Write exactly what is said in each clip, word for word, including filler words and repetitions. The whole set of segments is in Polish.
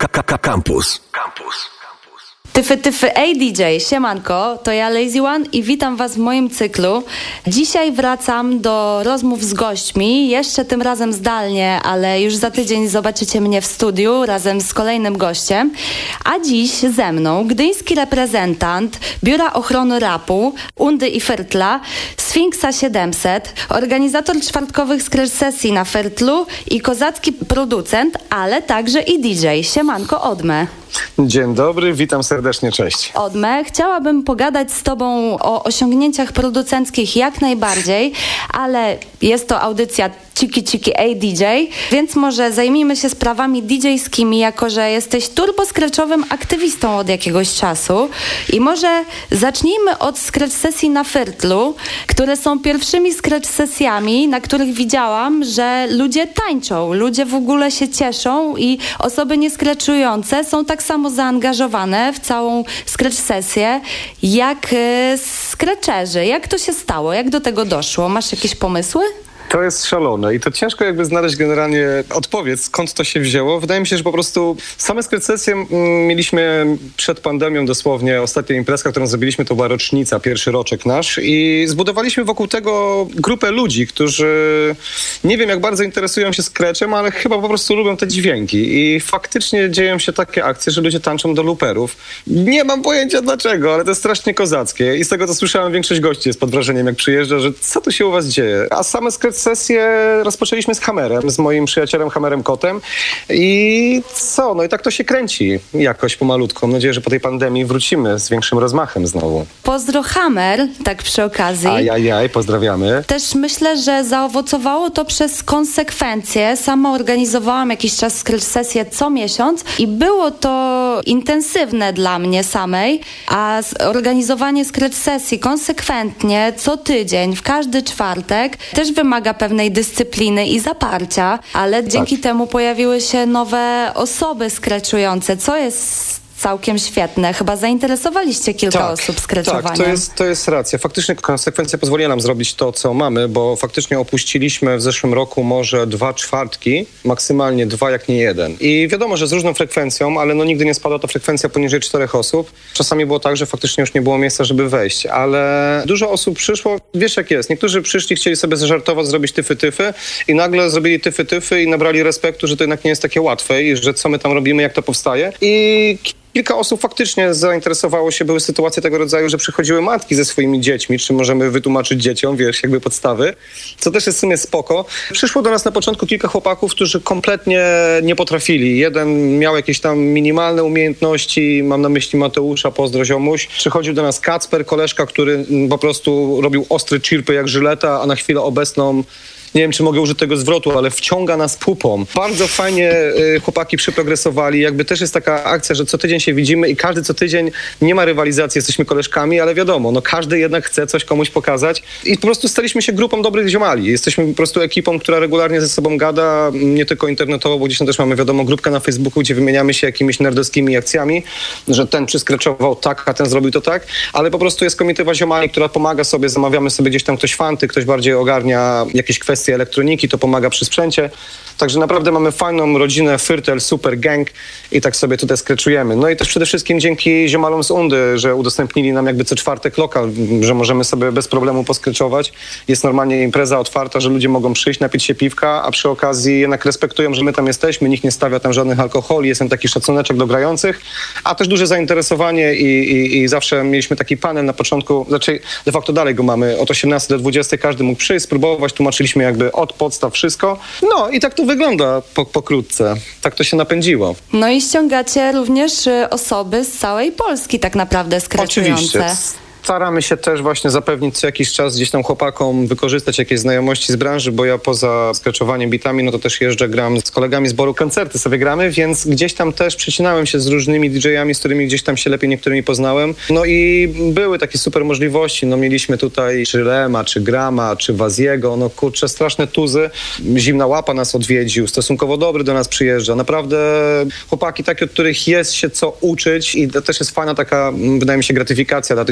Campus. Campus. Tyfy, tyfy, ej D J, siemanko, to ja Lazy One i witam was w moim cyklu. Dzisiaj wracam do rozmów z gośćmi, jeszcze tym razem zdalnie, ale już za tydzień zobaczycie mnie w studiu razem z kolejnym gościem. A dziś ze mną gdyński reprezentant Biura Ochrony Rapu, Undy i Fertla, Sfinksa siedemset, organizator czwartkowych scratch sesji na Fertlu i kozacki producent, ale także i D J. Siemanko, Odme. Dzień dobry, witam serdecznie, cześć. Odme, chciałabym pogadać z tobą o osiągnięciach producenckich jak najbardziej, ale jest to audycja Ciki Ciki ej D J, więc może zajmijmy się sprawami D J-skimi, jako że jesteś turbo-scratchowym aktywistą od jakiegoś czasu. I może zacznijmy od scratch sesji na Fertlu, które są pierwszymi scratch sesjami, na których widziałam, że ludzie tańczą, ludzie w ogóle się cieszą i osoby niescratchujące są tak samo zaangażowane w całą scratch sesję jak y, scratcherzy. Jak to się stało? Jak do tego doszło? Masz jakieś pomysły? To jest szalone i to ciężko jakby znaleźć generalnie odpowiedź, skąd to się wzięło. Wydaje mi się, że po prostu same scratch sesje mieliśmy przed pandemią dosłownie. Ostatnia imprezka, którą zrobiliśmy, to była rocznica, pierwszy roczek nasz i zbudowaliśmy wokół tego grupę ludzi, którzy nie wiem jak bardzo interesują się scratchem, ale chyba po prostu lubią te dźwięki i faktycznie dzieją się takie akcje, że ludzie tańczą do looperów. Nie mam pojęcia dlaczego, ale to jest strasznie kozackie i z tego co słyszałem, większość gości jest pod wrażeniem jak przyjeżdża, że co tu się u was dzieje. A same scratch sesję rozpoczęliśmy z Hammerem, z moim przyjacielem Hammerem Kotem i co? No i tak to się kręci jakoś pomalutko. Mam nadzieję, że po tej pandemii wrócimy z większym rozmachem znowu. Pozdro Hammer, tak przy okazji. Ajajaj, pozdrawiamy. Też myślę, że zaowocowało to przez konsekwencje. Sama organizowałam jakiś czas scratch sesję co miesiąc i było to intensywne dla mnie samej, a organizowanie scratch sesji konsekwentnie co tydzień, w każdy czwartek też wymaga pewnej dyscypliny i zaparcia, ale tak. Dzięki temu pojawiły się nowe osoby scratchujące, co jest całkiem świetne. Chyba zainteresowaliście kilka tak, osób scratchowaniem. Tak, to jest, to jest racja. Faktycznie konsekwencja pozwoliła nam zrobić to, co mamy, bo faktycznie opuściliśmy w zeszłym roku może dwa czwartki, maksymalnie dwa, jak nie jeden. I wiadomo, że z różną frekwencją, ale no nigdy nie spadła ta frekwencja poniżej czterech osób. Czasami było tak, że faktycznie już nie było miejsca, żeby wejść, ale dużo osób przyszło, wiesz jak jest, niektórzy przyszli, chcieli sobie zażartować, zrobić tyfy-tyfy i nagle zrobili tyfy-tyfy i nabrali respektu, że to jednak nie jest takie łatwe i że co my tam robimy, jak to powstaje. I kilka osób faktycznie zainteresowało się, były sytuacje tego rodzaju, że przychodziły matki ze swoimi dziećmi, czy możemy wytłumaczyć dzieciom, wiesz, jakby podstawy, co też jest w sumie spoko. Przyszło do nas na początku kilka chłopaków, którzy kompletnie nie potrafili. Jeden miał jakieś tam minimalne umiejętności, mam na myśli Mateusza, pozdro ziomuś. Przychodził do nas Kacper, koleżka, który po prostu robił ostre chirpy jak żyleta, a na chwilę obecną nie wiem, czy mogę użyć tego zwrotu, ale wciąga nas pupą. Bardzo fajnie y, chłopaki przyprogresowali. Jakby też jest taka akcja, że co tydzień się widzimy i każdy co tydzień nie ma rywalizacji, jesteśmy koleżkami, ale wiadomo, no każdy jednak chce coś komuś pokazać. I po prostu staliśmy się grupą dobrych ziomali. Jesteśmy po prostu ekipą, która regularnie ze sobą gada, nie tylko internetowo, bo gdzieś tam też mamy, wiadomo, grupkę na Facebooku, gdzie wymieniamy się jakimiś nerdowskimi akcjami, że ten przyskraczował tak, a ten zrobił to tak, ale po prostu jest komitywa ziomali, która pomaga sobie, zamawiamy sobie gdzieś tam ktoś fanty, ktoś bardziej ogarnia jakieś kwestie elektroniki, to pomaga przy sprzęcie. Także naprawdę mamy fajną rodzinę, Fyrtel, super gang i tak sobie tutaj skreczujemy. No i też przede wszystkim dzięki ziomalom z Undy, że udostępnili nam jakby co czwartek lokal, że możemy sobie bez problemu poskreczować. Jest normalnie impreza otwarta, że ludzie mogą przyjść, napić się piwka, a przy okazji jednak respektują, że my tam jesteśmy, nikt nie stawia tam żadnych alkoholi, jest tam taki szacuneczek do grających, a też duże zainteresowanie i, i, i zawsze mieliśmy taki panel na początku, znaczy de facto dalej go mamy, od osiemnastej do dwudziestej każdy mógł przyjść, spróbować, tłumaczyliśmy jakby od podstaw wszystko. No i tak to wygląda po, pokrótce. Tak to się napędziło. No i ściągacie również osoby z całej Polski tak naprawdę skraczujące. Oczywiście. Staramy się też właśnie zapewnić co jakiś czas gdzieś tam chłopakom wykorzystać jakieś znajomości z branży, bo ja poza skraczowaniem bitami, no to też jeżdżę, gram z kolegami z Boru, koncerty sobie gramy, więc gdzieś tam też przecinałem się z różnymi didżejami, z którymi gdzieś tam się lepiej niektórymi poznałem. No i były takie super możliwości, no mieliśmy tutaj czy Lema, czy Grama, czy Waziego, no kurczę, straszne tuzy. Zimna Łapa nas odwiedził, stosunkowo dobry do nas przyjeżdża. Naprawdę chłopaki takie, od których jest się co uczyć i to też jest fajna taka, wydaje mi się, gratyfikacja dla tych ziomali,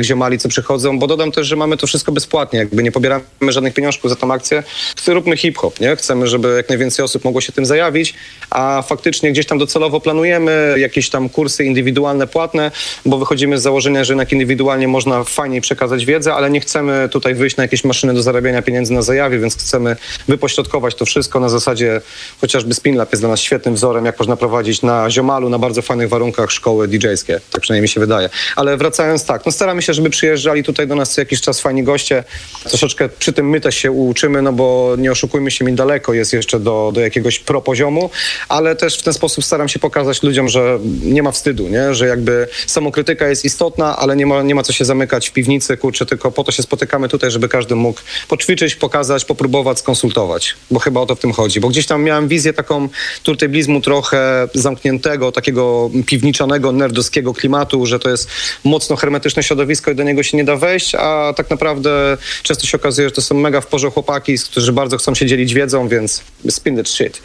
uczestnicy przychodzą, bo dodam też, że mamy to wszystko bezpłatnie, jakby nie pobieramy żadnych pieniążków za tą akcję. Róbmy hip-hop, nie? Chcemy, żeby jak najwięcej osób mogło się tym zajawić, a faktycznie gdzieś tam docelowo planujemy jakieś tam kursy indywidualne, płatne, bo wychodzimy z założenia, że jednak indywidualnie można fajniej przekazać wiedzę, ale nie chcemy tutaj wyjść na jakieś maszyny do zarabiania pieniędzy na zajawie, więc chcemy wypośrodkować to wszystko na zasadzie, chociażby Spinlab jest dla nas świetnym wzorem, jak można prowadzić na ziomalu, na bardzo fajnych warunkach szkoły didżejskie. Tak przynajmniej mi się wydaje. Ale wracając tak, no staramy się, żeby przyjeżdżali tutaj do nas co jakiś czas fajni goście. Troszeczkę przy tym my też się uczymy, no bo nie oszukujmy się, mi daleko jest jeszcze do, do jakiegoś pro poziomu, ale też w ten sposób staram się pokazać ludziom, że nie ma wstydu, nie? Że jakby samokrytyka jest istotna, ale nie ma, nie ma co się zamykać w piwnicy, kurczę, tylko po to się spotykamy tutaj, żeby każdy mógł poćwiczyć, pokazać, popróbować, skonsultować. Bo chyba o to w tym chodzi. Bo gdzieś tam miałem wizję taką turteblizmu trochę zamkniętego, takiego piwniczanego, nerdowskiego klimatu, że to jest mocno hermetyczne środowisko i do niego się nie da wejść, a tak naprawdę często się okazuje, że to są mega w porze chłopaki, którzy bardzo chcą się dzielić wiedzą, więc spin that shit.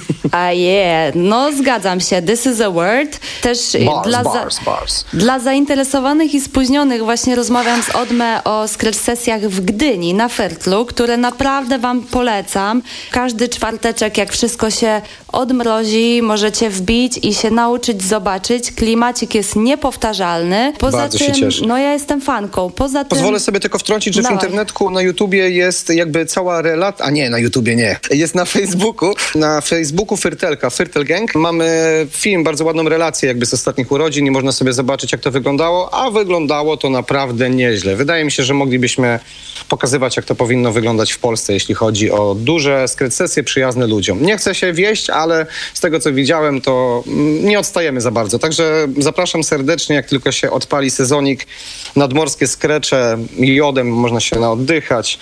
A yeah, no zgadzam się. This is a word. Też bars, dla, bars, za, bars. dla zainteresowanych i spóźnionych właśnie rozmawiam z Odmę o scratch sesjach w Gdyni na Fertlu, które naprawdę wam polecam. Każdy czwarteczek, jak wszystko się odmrozi, możecie wbić i się nauczyć, zobaczyć. Klimacik jest niepowtarzalny. Poza Bardzo tym, się cieszę. no ja jestem fanką. Poza Pozwolę tym... sobie tylko wtrącić, że Dawaj. w internetku na YouTubie jest jakby cała relacja, a nie, na YouTubie nie, jest na Facebooku, na Facebooku Fyrtelka, Fyrtel Gang. Mamy film, bardzo ładną relację jakby z ostatnich urodzin i można sobie zobaczyć, jak to wyglądało, a wyglądało to naprawdę nieźle. Wydaje mi się, że moglibyśmy pokazywać, jak to powinno wyglądać w Polsce, jeśli chodzi o duże scratch sesje przyjazne ludziom. Nie chcę się wieść, ale z tego, co widziałem, to nie odstajemy za bardzo. Także zapraszam serdecznie, jak tylko się odpali sezonik, nadmorskie skrecze, jodem można się naoddychać.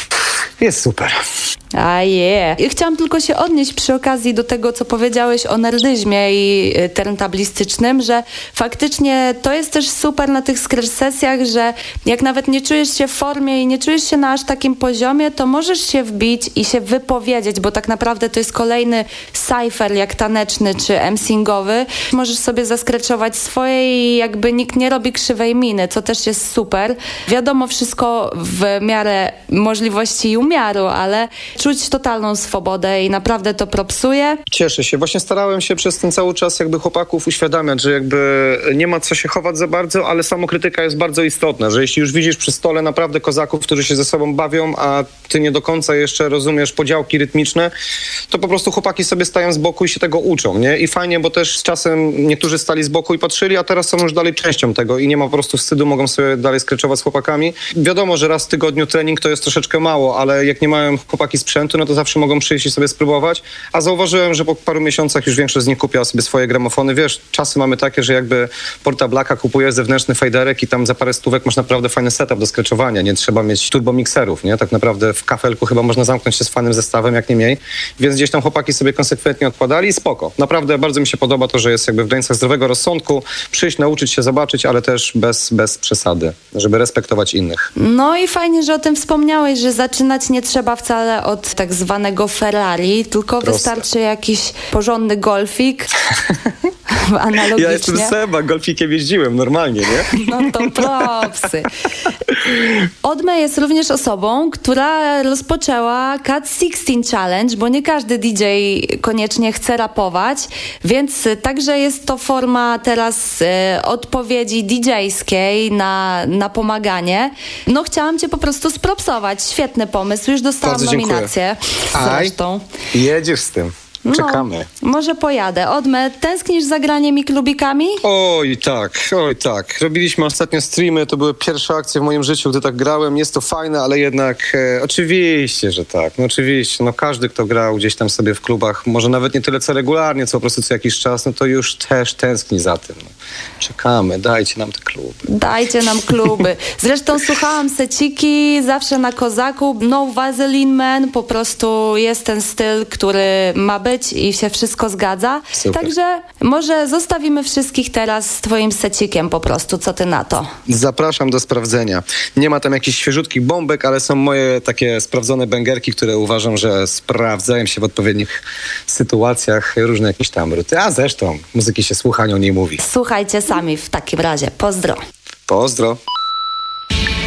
Jest super. A je. Yeah. Chciałam tylko się odnieść przy okazji do tego, co powiedziałeś o nerdyzmie i y, turntablistycznym, że faktycznie to jest też super na tych scratch sesjach, że jak nawet nie czujesz się w formie i nie czujesz się na aż takim poziomie, to możesz się wbić i się wypowiedzieć, bo tak naprawdę to jest kolejny cypher jak taneczny czy emsingowy. Możesz sobie zaskreczować swoje i jakby nikt nie robi krzywej miny, co też jest super. Wiadomo, wszystko w miarę możliwości i umiaru, ale czuć totalną swobodę i naprawdę to propsuje. Cieszę się. Właśnie starałem się przez ten cały czas jakby chłopaków uświadamiać, że jakby nie ma co się chować za bardzo, ale samokrytyka jest bardzo istotna, że jeśli już widzisz przy stole naprawdę kozaków, którzy się ze sobą bawią, a ty nie do końca jeszcze rozumiesz podziałki rytmiczne, to po prostu chłopaki sobie stają z boku i się tego uczą, nie? I fajnie, bo też z czasem niektórzy stali z boku i patrzyli, a teraz są już dalej częścią tego i nie ma po prostu wstydu, mogą sobie dalej skreczować z chłopakami. Wiadomo, że raz w tygodniu trening to jest troszeczkę mało, ale jak nie mają chłopaki sprzętu, no to zawsze mogą przyjść i sobie spróbować. A zauważyłem, że po paru miesiącach już większość z nich kupiła sobie swoje gramofony. Wiesz, czasy mamy takie, że jakby Porta Blacka kupujesz zewnętrzny faderek i tam za parę stówek masz naprawdę fajny setup do skreczowania. Nie trzeba mieć turbomikserów, nie? Tak naprawdę w kafelku chyba można zamknąć się z fajnym zestawem, jak nie mniej. Więc gdzieś tam chłopaki sobie konsekwentnie odkładali i spoko. Naprawdę bardzo mi się podoba to, że jest jakby w granicach zdrowego rozsądku. Przyjść, nauczyć się, zobaczyć, ale też bez, bez przesady, żeby respektować innych. No i fajnie, że o tym wspomniałeś, że zaczynać nie trzeba wcale od tak zwanego Ferrari, tylko Proste. Wystarczy jakiś porządny golfik. Analogicznie. Ja jestem Seba, golfikiem jeździłem normalnie, nie? No to propsy. Odme jest również osobą, która rozpoczęła Cat szesnaście Challenge, bo nie każdy D J koniecznie chce rapować, więc także jest to forma teraz e, odpowiedzi didżejskiej na, na pomaganie. No chciałam cię po prostu spropsować. Świetny pomysł. Już dostałam Bardzo nominację. Zresztą. Aj, jedziesz z tym. Czekamy. No, może pojadę. Odme, tęsknisz za graniem i klubikami? Oj tak, oj tak. Robiliśmy ostatnio streamy, to były pierwsze akcje w moim życiu, gdy tak grałem. Jest to fajne, ale jednak e, oczywiście, że tak. No oczywiście, no każdy, kto grał gdzieś tam sobie w klubach, może nawet nie tyle co regularnie, co po prostu co jakiś czas, no to już też tęskni za tym. No. Czekamy, dajcie nam te kluby. Dajcie nam kluby. Zresztą słuchałam seciki, zawsze na kozaku. No Vaseline Man, po prostu jest ten styl, który ma być i się wszystko zgadza. Super. Także może zostawimy wszystkich teraz z twoim secikiem po prostu. Co ty na to? Zapraszam do sprawdzenia. Nie ma tam jakichś świeżutkich bombek, ale są moje takie sprawdzone bęgerki, które uważam, że sprawdzają się w odpowiednich sytuacjach, różne jakieś tam ruty. A zresztą muzyki się słucha, o niej mówi. Słuchajcie sami w takim razie. Pozdro. Pozdro.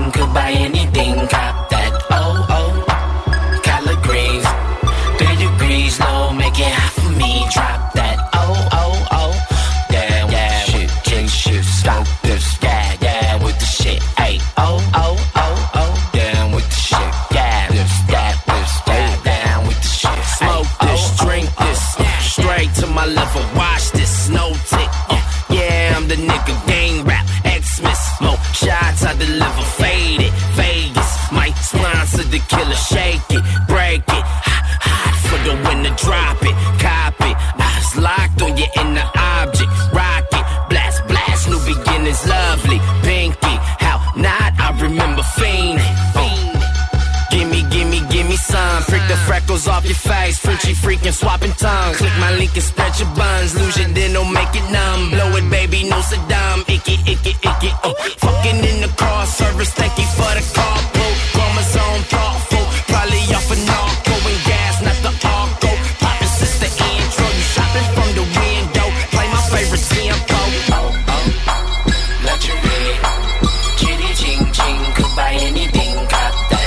ching, could buy anything, cop that. Oh, oh, collard greens, three degrees low, make it hot for me, drop that. Oh, oh, oh, yeah, yeah, shit, king shit, stop this, yeah, yeah, with the shit, ayy. Oh, oh, oh, oh, down with the shit, yeah, this, that, this, yeah, down with the shit. Smoke this, drink this, straight to my level, watch this, no tick. Uh, yeah, I'm the nigga, gang rap, X-Miss, smoke shots I deliver, faded, Vegas, might sponsor the killer, shake it, break it, hot, hot for the winner, drop it, cop it, eyes locked on your inner object, rock it, blast, blast, new beginnings, lovely, pinky, how not, I remember fiending, fiending. Gimme, gimme, gimme some. Prick the freckles off your face. Frenchy freaking swapping tongues. Click my link and spread your buns. Lose your then don't make it numb. Blow it, baby, no Saddam. Icky, icky, icky. Oh, fucking in the car service. Thank you for the carpool. Chromosome thoughtful. Probably off a narco and gas, not the arco. Poppin' sister intro. You shopping from the window. Play my favorite tempo. Oh, oh. Let you read. Chitty ching ching. Could buy anything. Cop that.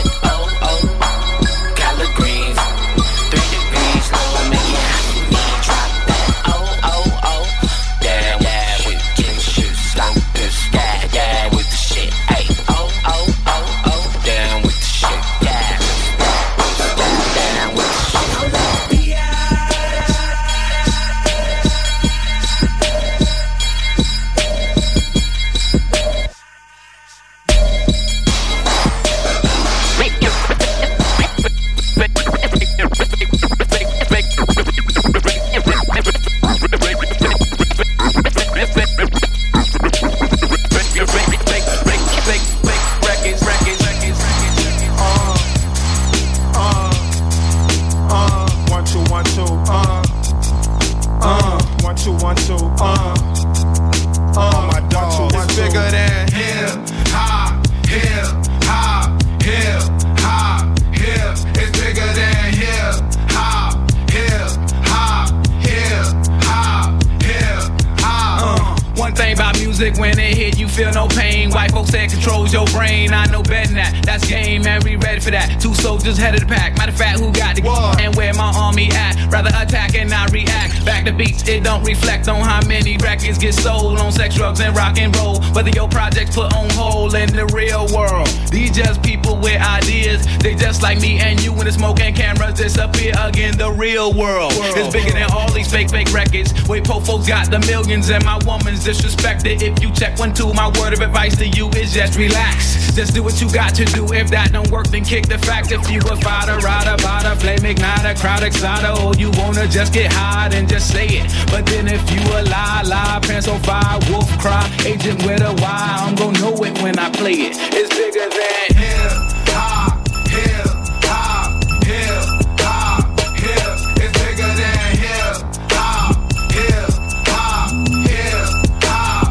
When it hit, you feel no pain. White folks said controls your brain. I know better than that. That's game, man. We ready for that. Two soldiers head of the pack. Matter of fact, who got the what? And where my army at? Rather attack and not react. Back to beats, it don't reflect on how many records get sold on sex, drugs, and rock and roll. Whether your projects put on hold in the real world. These just people with ideas. They just like me and you when the smoke and cameras disappear again. The real world, world. It's bigger than all these fake, fake records. Wait, po folks got the millions and my woman's disrespected. If you check one, two, my word of advice to you is just relax. Just do what you got to do. If that don't work, then kick the fact. If you a fighter, rider, bada, flame igniter, crowd exciter, or you wanna just get high and just say it. But then if you a lie, lie, pants on fire, wolf cry, agent with a Y, I'm gonna know it when I play it. It's bigger than hip hop, hip hop, hip hop, hip. It's bigger than hip hop, hip hop, hip hop,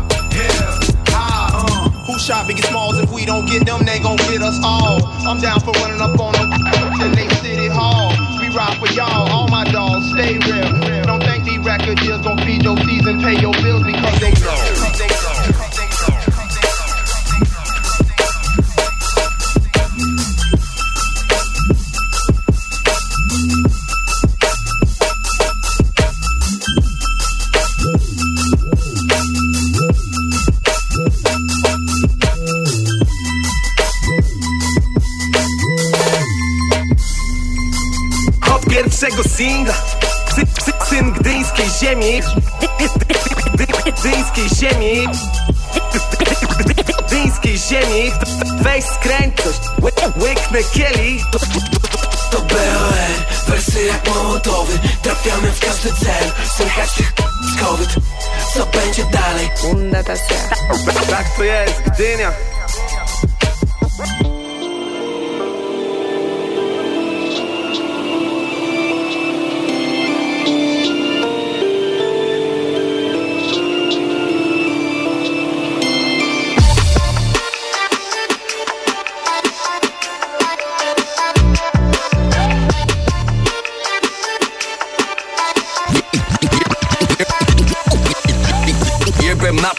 hip hop. Who shot Biggie Smalls? If we don't get them, they gon' get us all. I'm down for running up on them in they city hall. We ride for y'all, all my dogs stay real. Don't think these record deals gon' feed your teeth and pay your bills because they know. They know. Pierwszego singla, syn gdyńskiej ziemi, gdyńskiej ziemi, gdyńskiej ziemi. Weź skręć coś, łyknę kielich. To B O R, wersy jak mołotowy. Trafiamy w każdy cel, słychać tych z COVID. Co będzie dalej? Tak to jest, Gdynia.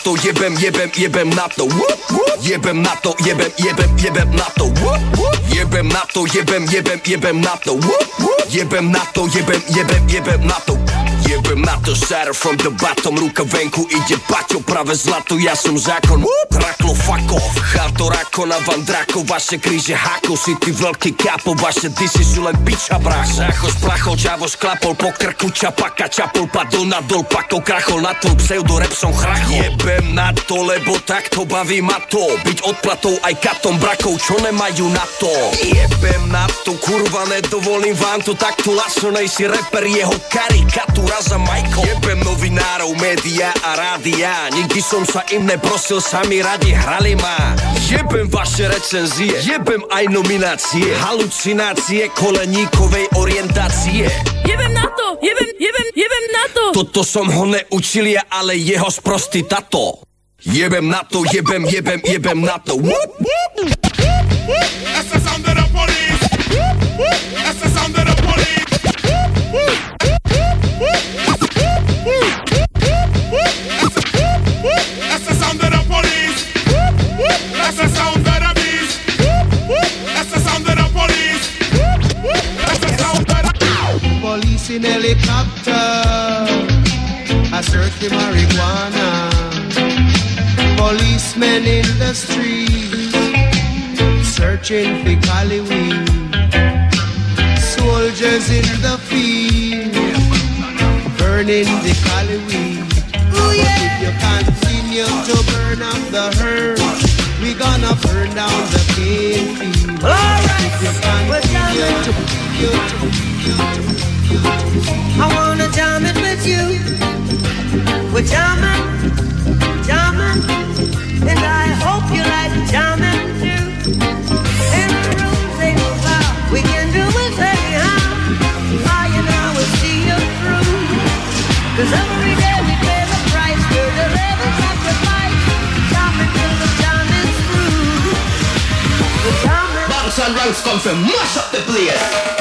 to, jebem, jebem, jebem na to. Jebem na to, jebem, jebem, jebem na to. Jebem na to, jebem, jebem, jebem na to. Jebem na to, jebem, jebem, jebem na to. Jebem na to, shatter from the bottom. Ruka venku, idzie bacio, prawe zlato, ja som zákon. Raklo, fuck off, Charto, Rakona, Van Draco. Vaše kríže hákov, si ty veľký kápo. Vaše disy sú len piča, brach. Zácho, splachol, čavo, šklapol, po krku, čapaka, čapol, padol na dol, pakol, krachol, na tvoj pseudorep som chrachol. Jebem na to, lebo takto baví ma to. Byť odplatou aj katom, brakov, čo nemajú na to. Jebem na to, kurva, nedovolím vám to. Takto lasonej si reper, jeho karikatúra za Michael. Jebem novinárov, média a rádia. Nikdy som sa im neprosil, sami radi hrali ma. Jebem vaše recenzie, jebem aj nominácie. Halucinácie koleníkovej orientácie. Jebem na to, jebem, jebem, jebem na to. Toto som ho neučil ja, ale jeho sprostý tato. Jebem na to, jebem, jebem, jebem na to. That's the sound of the police. That's the sound of the police. That's the sound of the police. That's the sound of the beast. That's the sound of the police. That's the sound of the police in helicopter. I search the marijuana. Policemen in the streets searching for cali weed. Soldiers in the field burning the cali weed. But if you continue to burn up the herd, we gonna burn down the cane field. If you continue to, you, to, I wanna jam it with you. We're jamming, jamming, and I hope you like jamming too. In the rules ain't no foul, we can do it anyhow. I and I will see you through. Cause every day we pay the price for the living sacrifice. Jamming till the jamming's through. We're jamming. Bounce and ranks come from mash up the place.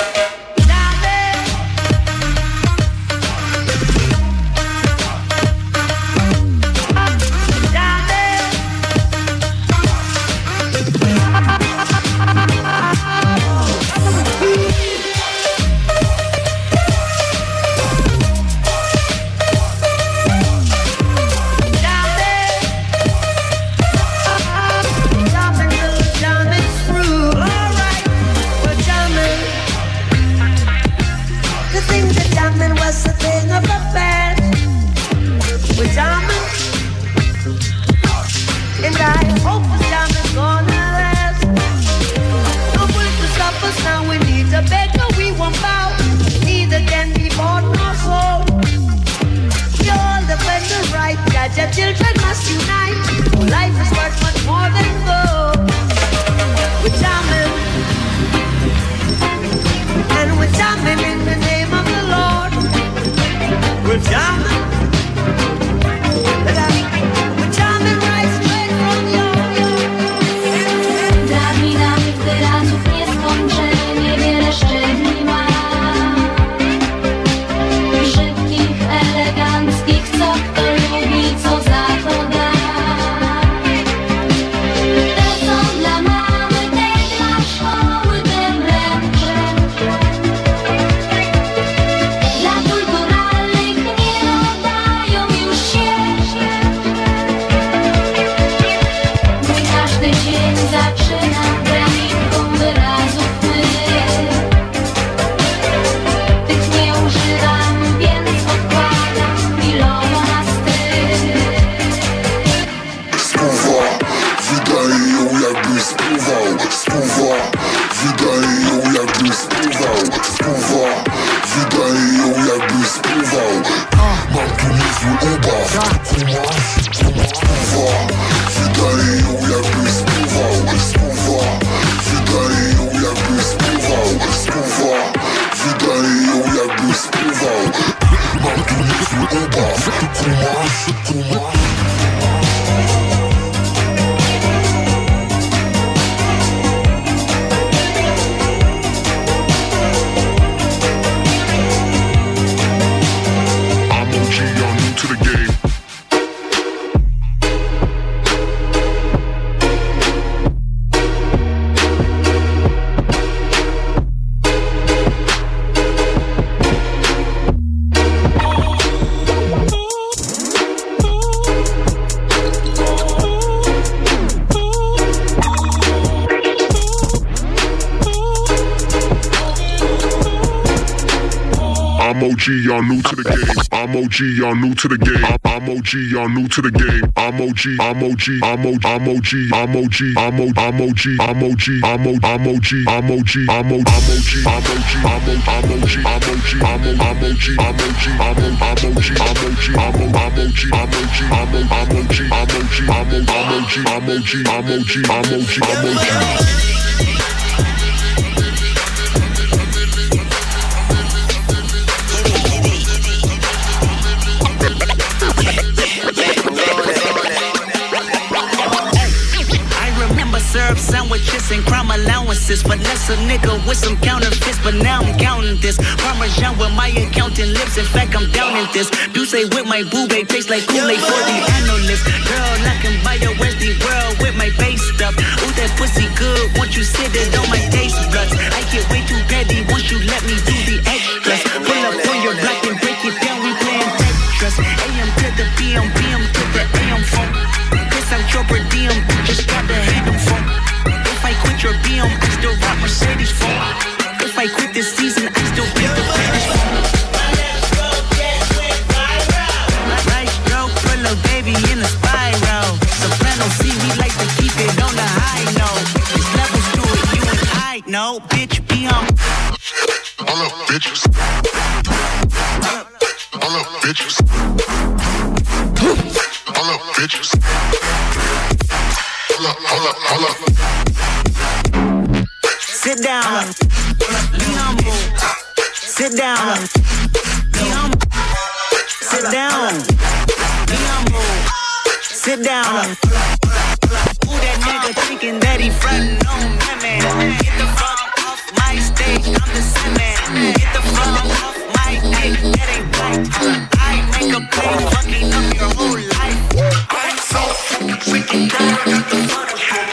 Children must unite. Life is worth much more than gold. We're jamming, and we're jamming in the name of the Lord. We're jamming, we're jamming right straight from your. Dla dynamik wyrazów nieskończenie wiele szczebli ma. Szybkich, eleganckich, co kto lubi, co za to da. Te są dla mamy, te dla szkoły, te mręcze. Dla kulturalnych nie oddają już się. Mój każdy dzień zaczyna granicką wyrazów mych. Tych nie używam, więc odkładam milowo na styl. Spływa, wydaje ją jakby spływał. Spływa, wydaje ją jakby spływał. Spływa, wydaje ją jakby spływał. Mam tu niezły ubaw. Spływa, wydaje ją jakby spływał. Spływa, wydaje ją jakby spływał. Spływa, wydaje ją jakby spływał. Mam tu niezły ubaw. Kumasz, kumasz. O G, y'all new to the game. I'm O G, y'all new to the game. I'm O G, y'all new to the game. I'm O G, I'm O G, I'm O, I'm O G, I'm O G, I'm O, I'm O G, I'm O G, I'm O, I'm O G, I'm O G, I'm O, I'm O G, I'm O G, I'm O, I'm O G, I'm O G, I'm O, I'm O G, I'm O G, I'm O, I'm O G, I'm O G, I'm O, I'm O G, I'm O G, I'm O, I'm O G, I'm O G, I'm O, I'm O G, I'm O G, I'm O G, I'm O G, I'm O G. Syrup sandwiches and crime allowances. But less a nigga with some counterfeits. But now I'm counting this Parmesan with my accountant lips. In fact, I'm down in this. Do say with my boo babe tastes like Kool-Aid for the analyst. Girl, I can buy a Westie world with my base stuff. Ooh, that pussy good. Once you sit it on my taste buds. I get way too petty once you let me do the extras. Pull up on your block and break it down. We playing Tetris. A M to the P M, P M to the A M phone. Piss out your per diem. Just got the handle phone. If I quit your B M, I still rock Mercedes phone. If I quit this season, I still beat the Spanish phone. Right stroke, put a baby in a spiral. Soprano C, we like to keep it on the high note. There's levels to it, you and I know. Bitch, be on. All up, bitches. All up, bitches. All up, bitches. Hold up, hold up, hold up. Sit down. Be humble. Sit down. Be humble. Sit down. Be humble. Sit down. Who that nigga thinking that he frontin' on women? Get the fuck off my stage, I'm the semen. Get the fuck off my dick, that ain't right. I make a play, fucking up your whole life. I'm so freaking tired, I got the Photoshop.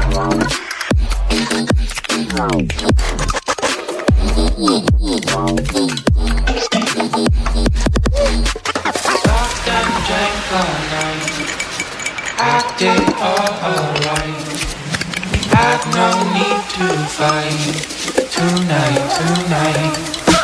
Fucked and drank all night, acted all alright. Had no need to fight tonight, tonight.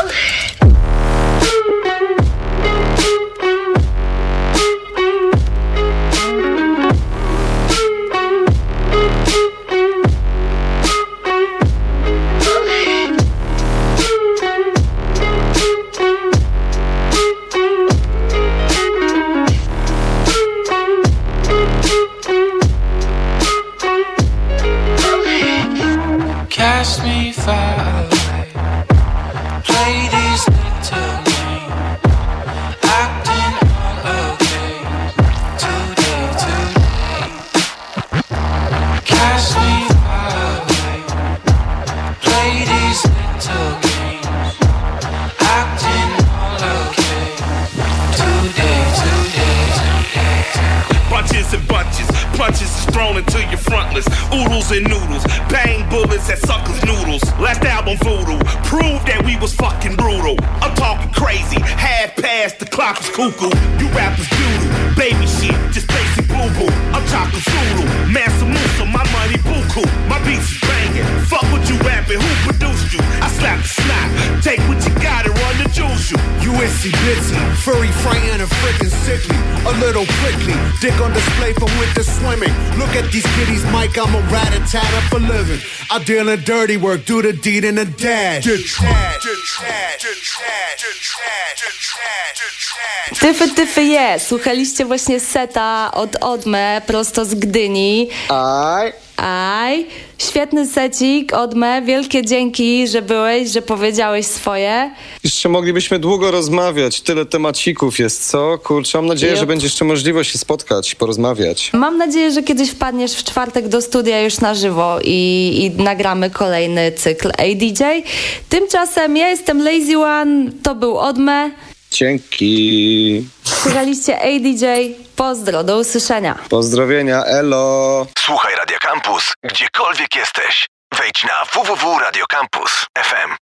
Cast me far away. Play this little game. Acting all okay. Today, today. Cast me far away. Play these little games. Acting all okay. Today, today, today, today. Bunches and bunches, punches is thrown into your frontlets. Oodles and noodles, bang bullets at suckers' noodles. Last album Voodoo, proved that we was fucking brutal. I'm talking crazy, half past the clock is cuckoo. You rappers doodle, baby shit, just basic boo boo. I'm talking Zulu, Mansa Musa, my money buku. My beats is banging, fuck what you rapping, who produced you? I slap the snot, take what you got and run the juice you. U S C Bitsy, furry, frightened, and freaking sickly. A little prickly, dick on display from winter swimming. Look at these kitties, Mike, I'm a rat-a-tat for living. I deal in dirty work, do the deed in a dash. Tyfy, tyfy je. Słuchaliście właśnie seta od Odme, prosto z Gdyni. Aj. Aj. Świetny secik, Odme. Wielkie dzięki, że byłeś, że powiedziałeś swoje. Jeszcze moglibyśmy długo rozmawiać. Tyle temacików jest, co? Kurczę, mam nadzieję, Yep. że będzie jeszcze możliwość się spotkać, porozmawiać. Mam nadzieję, że kiedyś wpadniesz w czwartek do studia już na żywo i, i nagramy kolejny cykl A D J. Tymczasem ja jestem Lazy One, to był Odme. Dzięki. Słuchaliście A D J. Pozdro, do usłyszenia. Pozdrowienia, elo. Słuchaj Radio Campus, gdziekolwiek jesteś. Wejdź na w w w kropka radio campus kropka f m.